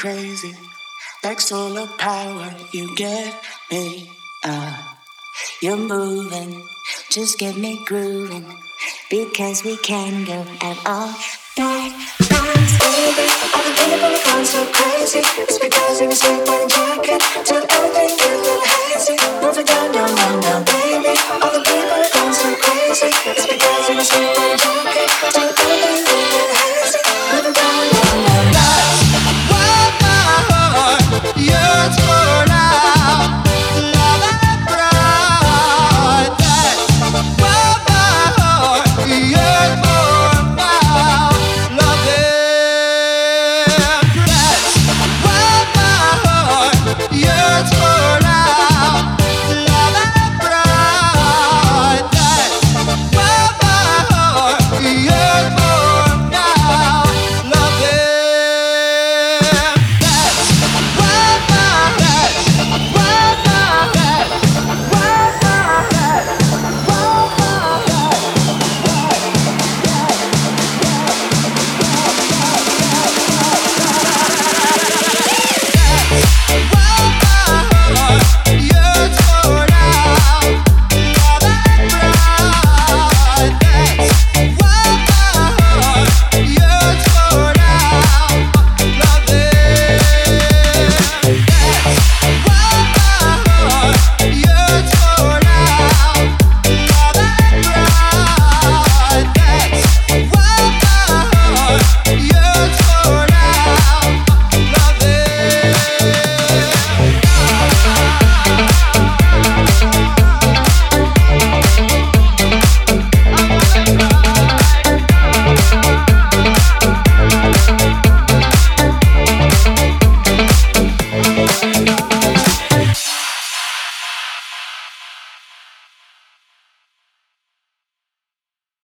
crazy, like solar power. You get me, you're moving, just get me grooving, because we can go at all night. Baby, I've been thinking about the phone so crazy. It's because you're a sleep wearing jacket, so everything gets a little hazy. Moving down your